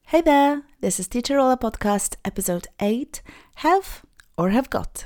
Hey there, this is Teacher Ola Podcast, episode 8, Have or Have Got.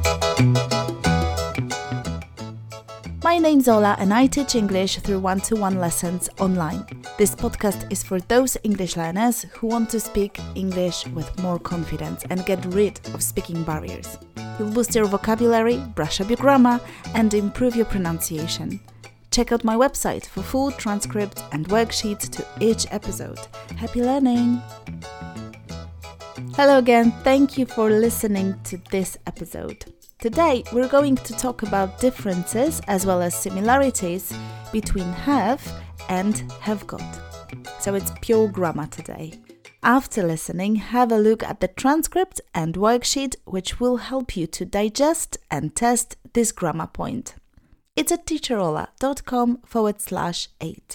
My name's Ola and I teach English through one-to-one lessons online. This podcast is for those English learners who want to speak English with more confidence and get rid of speaking barriers. You'll boost your vocabulary, brush up your grammar, and improve your pronunciation. Check out my website for full transcript and worksheets to each episode. Happy learning! Hello again, thank you for listening to this episode. Today we're going to talk about differences as well as similarities between have and have got. So it's pure grammar today. After listening, have a look at the transcript and worksheet which will help you to digest and test this grammar point. It's at teacherola.com/8.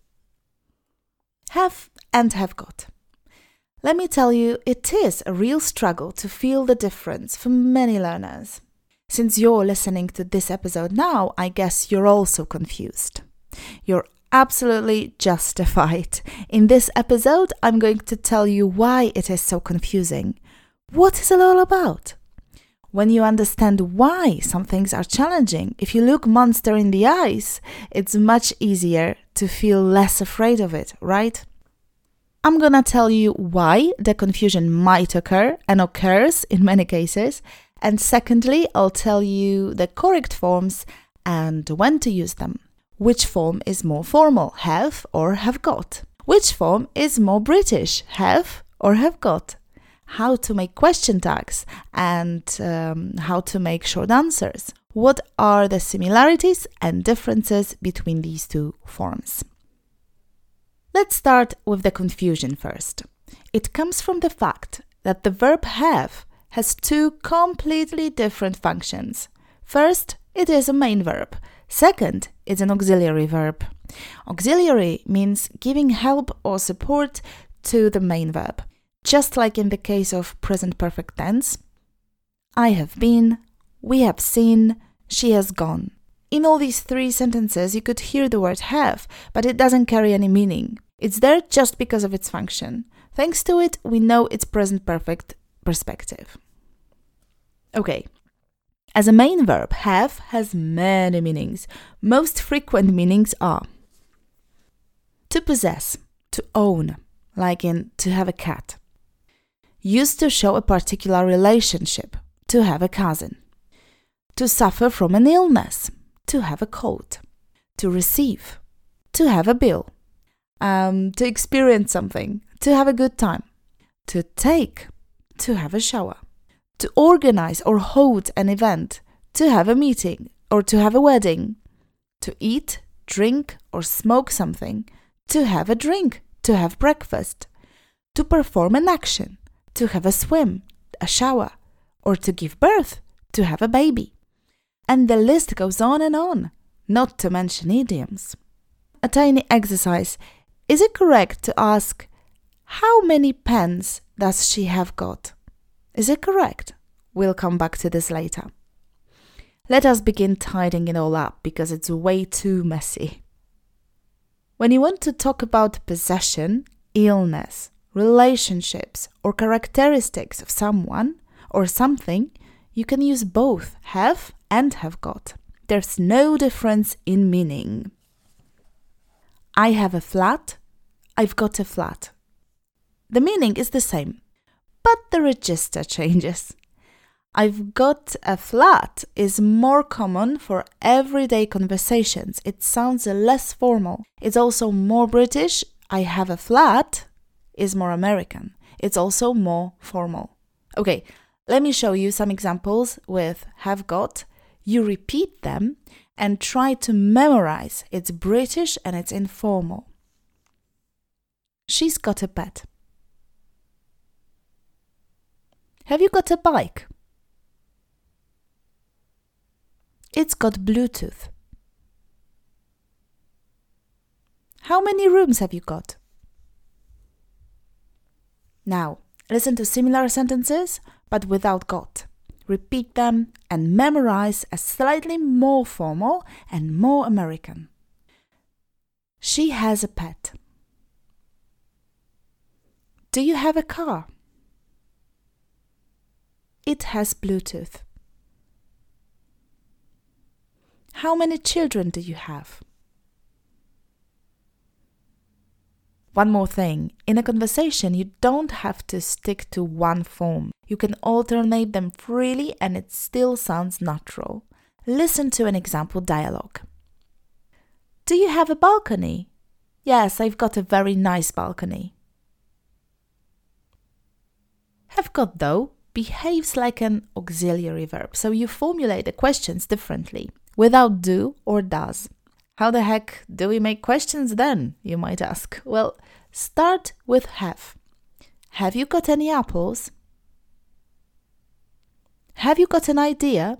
Have and have got. Let me tell you, it is a real struggle to feel the difference for many learners. Since you're listening to this episode now, I guess you're also confused. You're absolutely justified. In this episode, I'm going to tell you why it is so confusing. What is it all about? When you understand why some things are challenging, if you look monster in the eyes, it's much easier to feel less afraid of it, right? I'm gonna tell you why the confusion might occur and occurs in many cases. And secondly, I'll tell you the correct forms and when to use them. Which form is more formal, have or have got? Which form is more British, have or have got? How to make question tags and how to make short answers. What are the similarities and differences between these two forms? Let's start with the confusion first. It comes from the fact that the verb have has two completely different functions. First, it is a main verb. Second, it's an auxiliary verb. Auxiliary means giving help or support to the main verb. Just like in the case of present perfect tense, I have been, we have seen, she has gone. In all these three sentences, you could hear the word have, but it doesn't carry any meaning. It's there just because of its function. Thanks to it, we know its present perfect perspective. Okay. As a main verb, have has many meanings. Most frequent meanings are to possess, to own, like in to have a cat. Used to show a particular relationship, to have a cousin. To suffer from an illness, to have a cold. To receive, to have a bill. To experience something, to have a good time. To take, to have a shower. To organize or hold an event, to have a meeting or to have a wedding. To eat, drink or smoke something, to have a drink, to have breakfast. To perform an action, to have a swim, a shower, or to give birth, to have a baby. And the list goes on, not to mention idioms. A tiny exercise. Is it correct to ask, how many pens does she have got? Is it correct? We'll come back to this later. Let us begin tidying it all up because it's way too messy. When you want to talk about possession, illness, relationships, or characteristics of someone or something, you can use both have and have got. There's no difference in meaning. I have a flat, I've got a flat. The meaning is the same, but the register changes. I've got a flat is more common for everyday conversations. It sounds less formal. It's also more British. I have a flat is more American. It's also more formal. Okay, let me show you some examples with have got. You repeat them and try to memorize. It's British and it's informal. She's got a pet. Have you got a bike? It's got Bluetooth. How many rooms have you got? Now, listen to similar sentences, but without got. Repeat them and memorize as slightly more formal and more American. She has a pet. Do you have a car? It has Bluetooth. How many children do you have? One more thing, in a conversation you don't have to stick to one form. You can alternate them freely and it still sounds natural. Listen to an example dialogue. Do you have a balcony? Yes, I've got a very nice balcony. Have got, though, behaves like an auxiliary verb, so you formulate the questions differently, without do or does. How the heck do we make questions then, you might ask? Well, start with have. Have you got any apples? Have you got an idea?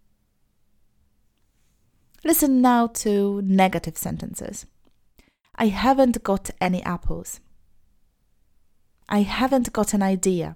Listen now to negative sentences. I haven't got any apples. I haven't got an idea.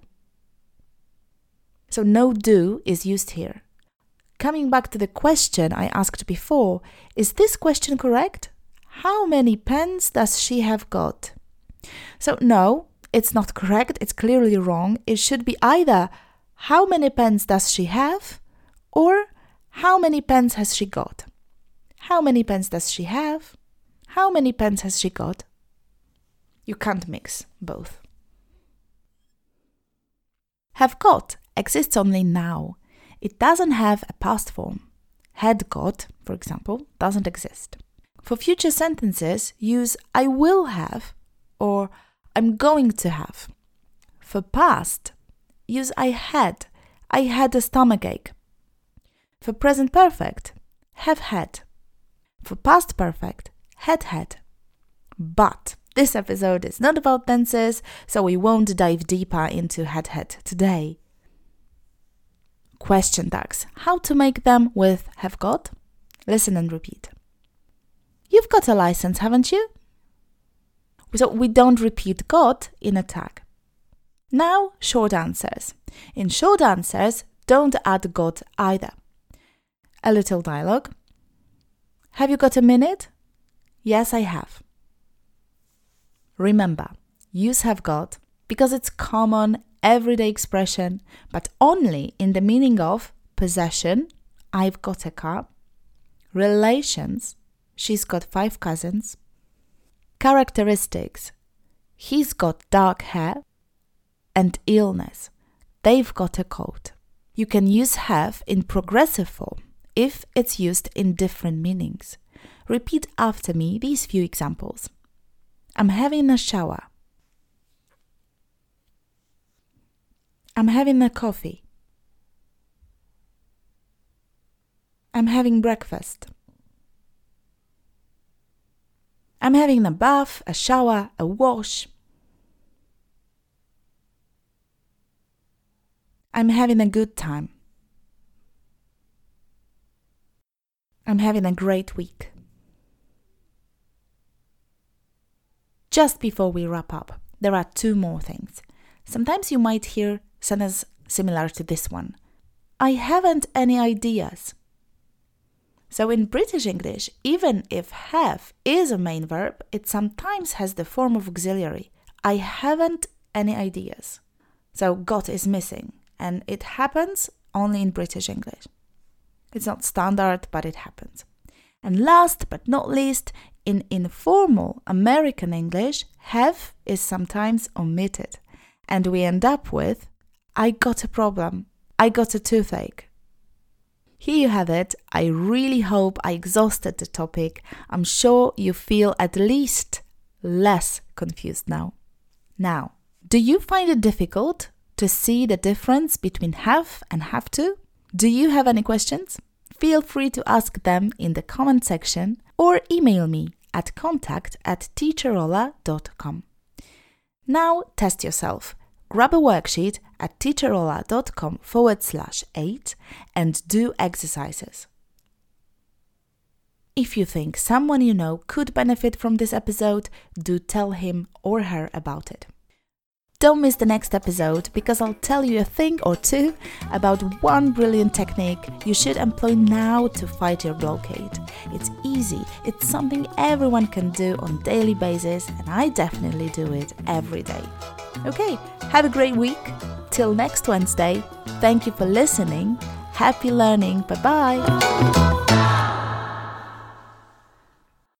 So no do is used here. Coming back to the question I asked before, is this question correct? How many pens does she have got? So no, it's not correct. It's clearly wrong. It should be either how many pens does she have or how many pens has she got? How many pens does she have? How many pens has she got? You can't mix both. Have got exists only now. It doesn't have a past form. Had got, for example, doesn't exist. For future sentences, use I will have or I'm going to have. For past, use I had a stomachache. For present perfect, have had. For past perfect, had. But this episode is not about tenses, so we won't dive deeper into had today. Question tags. How to make them with have got? Listen and repeat. You've got a license, haven't you? So we don't repeat got in a tag. Now, short answers. In short answers, don't add got either. A little dialogue. Have you got a minute? Yes, I have. Remember, use have got because it's common everyday expression, but only in the meaning of possession, I've got a car, relations, she's got 5 cousins, characteristics, he's got dark hair, and illness, they've got a cold. You can use have in progressive form if it's used in different meanings. Repeat after me these few examples. I'm having a shower. I'm having a coffee. I'm having breakfast. I'm having a bath, a shower, a wash. I'm having a good time. I'm having a great week. Just before we wrap up, there are 2 more things. Sometimes you might hear sentence similar to this one. I haven't any ideas. So in British English, even if have is a main verb, it sometimes has the form of auxiliary. I haven't any ideas. So got is missing, and it happens only in British English. It's not standard, but it happens. And last but not least, in informal American English, have is sometimes omitted. And we end up with, I got a problem. I got a toothache. Here you have it. I really hope I exhausted the topic. I'm sure you feel at least less confused now. Now, do you find it difficult to see the difference between have and have to? Do you have any questions? Feel free to ask them in the comment section or email me at contact@teacherola.com. Now test yourself. Grab a worksheet at teacherola.com/8 and do exercises. If you think someone you know could benefit from this episode, do tell him or her about it. Don't miss the next episode because I'll tell you a thing or two about one brilliant technique you should employ now to fight your blockade. It's easy, it's something everyone can do on a daily basis, and I definitely do it every day. Okay, have a great week. Till next Wednesday. Thank you for listening. Happy learning. Bye-bye.